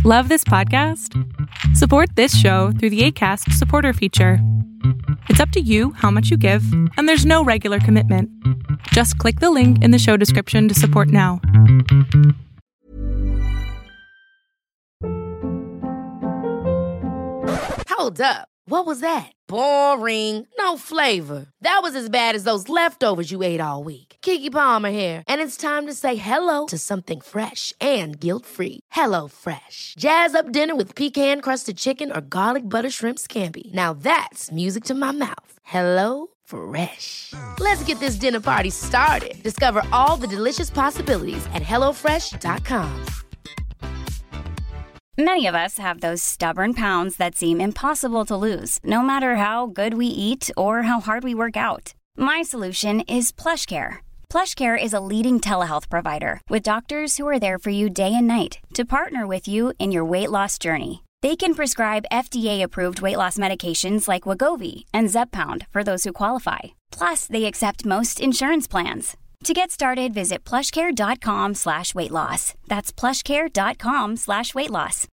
Love this podcast? Support this show through the Acast supporter feature. It's up to you how much you give, and there's no regular commitment. Just click the link in the show description to support now. Hold up. What was that? Boring. No flavor. That was as bad as those leftovers you ate all week. Keke Palmer here. And it's time to say hello to something fresh and guilt-free. Hello Fresh. Jazz up dinner with pecan-crusted chicken or garlic butter shrimp scampi. Now that's music to my mouth. Hello Fresh. Let's get this dinner party started. Discover all the delicious possibilities at hellofresh.com. Many of us have those stubborn pounds that seem impossible to lose, no matter how good we eat or how hard we work out. My solution is PlushCare. PlushCare is a leading telehealth provider with doctors who are there for you day and night to partner with you in your weight loss journey. They can prescribe FDA-approved weight loss medications like Wegovy and Zepbound for those who qualify. Plus, they accept most insurance plans. To get started, visit plushcare.com/weightloss. That's plushcare.com/weightloss.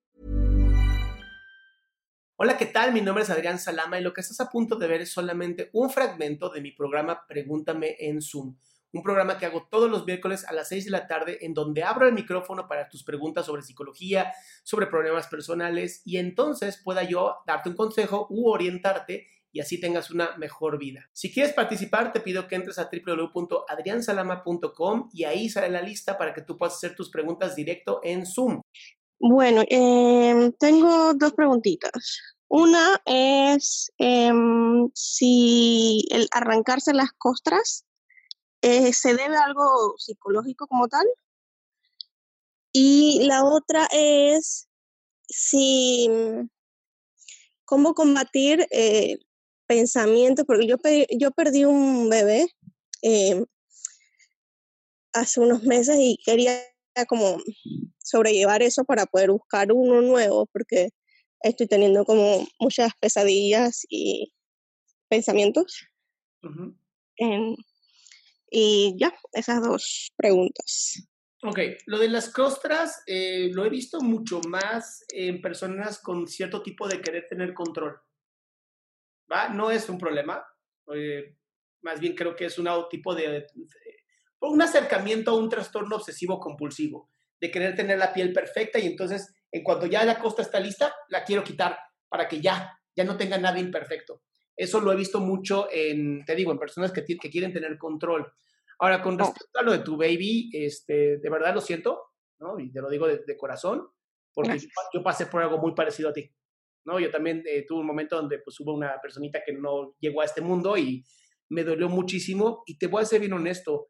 Hola, ¿qué tal? Mi nombre es Adrián Salama y lo que estás a punto de ver es solamente un fragmento de mi programa Pregúntame en Zoom. Un programa que hago todos los miércoles a las 6 de la tarde en donde abro el micrófono para tus preguntas sobre psicología, sobre problemas personales y entonces pueda yo darte un consejo u orientarte y así tengas una mejor vida. Si quieres participar, te pido que entres a www.adriansalama.com y ahí sale la lista para que tú puedas hacer tus preguntas directo en Zoom. Bueno, tengo dos preguntitas. Una es si el arrancarse las costras se debe a algo psicológico como tal. Y la otra es si cómo combatir pensamientos, porque yo perdí un bebé hace unos meses y quería como sobrellevar eso para poder buscar uno nuevo, porque estoy teniendo como muchas pesadillas y pensamientos. Uh-huh. Y ya, esas dos preguntas. Ok, lo de las costras lo he visto mucho más en personas con cierto tipo de querer tener control. ¿Va? No es un problema, más bien creo que es un tipo de un acercamiento a un trastorno obsesivo compulsivo, de querer tener la piel perfecta y entonces en cuanto ya la costra está lista, la quiero quitar para que ya no tenga nada imperfecto. Eso lo he visto mucho en personas que quieren tener control. Ahora, con respecto a lo de tu baby, de verdad lo siento, ¿no? Y te lo digo de corazón, porque yo pasé por algo muy parecido a ti. ¿No? Yo también tuve un momento donde pues hubo una personita que no llegó a este mundo y me dolió muchísimo y te voy a ser bien honesto,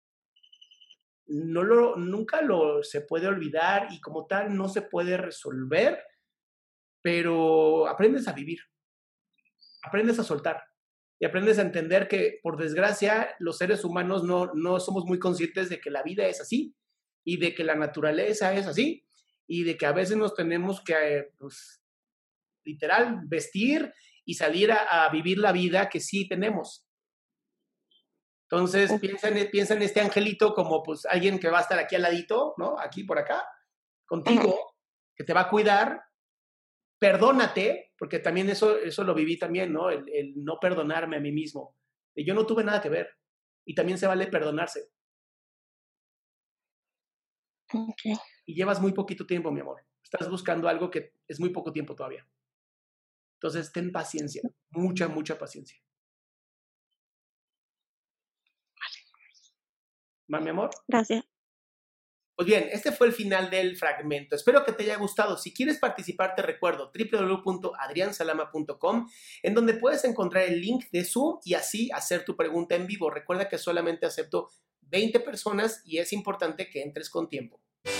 nunca se puede olvidar y como tal no se puede resolver, pero aprendes a vivir, aprendes a soltar y aprendes a entender que por desgracia los seres humanos no somos muy conscientes de que la vida es así y de que la naturaleza es así y de que a veces nos tenemos que literal, vestir y salir a vivir la vida que sí tenemos. Entonces, piensa en este angelito como pues alguien que va a estar aquí al ladito, ¿no? Aquí por acá, contigo, que te va a cuidar. Perdónate, porque también eso lo viví también, ¿no? El no perdonarme a mí mismo. Yo no tuve nada que ver. Y también se vale perdonarse. Okay. Y llevas muy poquito tiempo, mi amor. Estás buscando algo que es muy poco tiempo todavía. Entonces, ten paciencia, mucha, mucha paciencia. ¿Va, mi amor? Gracias. Pues bien, este fue el final del fragmento. Espero que te haya gustado. Si quieres participar, te recuerdo www.adriansalama.com, en donde puedes encontrar el link de Zoom y así hacer tu pregunta en vivo. Recuerda que solamente acepto 20 personas y es importante que entres con tiempo.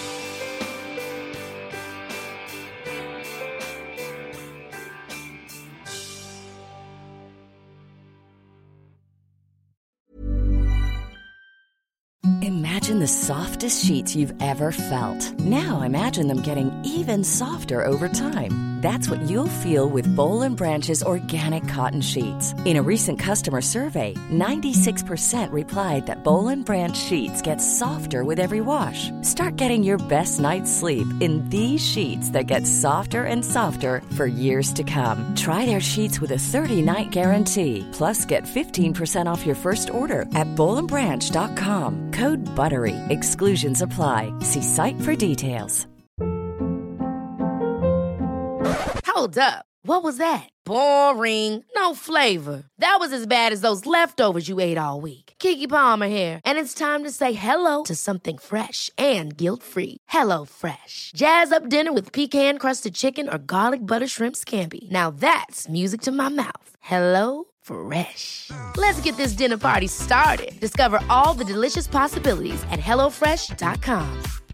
Imagine the softest sheets you've ever felt. Now imagine them getting even softer over time. That's what you'll feel with Boll & Branch's organic cotton sheets. In a recent customer survey, 96% replied that Boll & Branch sheets get softer with every wash. Start getting your best night's sleep in these sheets that get softer and softer for years to come. Try their sheets with a 30-night guarantee. Plus, get 15% off your first order at bollandbranch.com. Code BUTTERY. Exclusions apply. See site for details. Hold up. What was that? Boring. No flavor. That was as bad as those leftovers you ate all week. Keke Palmer here, and it's time to say hello to something fresh and guilt-free. Hello Fresh. Jazz up dinner with pecan-crusted chicken or garlic butter shrimp scampi. Now that's music to my mouth. Hello Fresh. Let's get this dinner party started. Discover all the delicious possibilities at hellofresh.com.